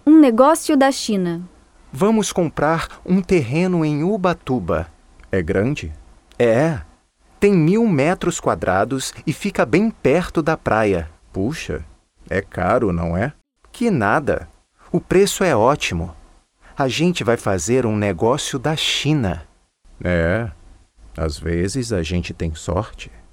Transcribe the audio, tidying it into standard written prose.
Um negócio da China. Vamos comprar um terreno em Ubatuba. É grande? É. Tem 1.000 metros quadrados e fica bem perto da praia. Puxa, é caro, não é? Que nada. O preço é ótimo. A gente vai fazer um negócio da China. É, às vezes a gente tem sorte.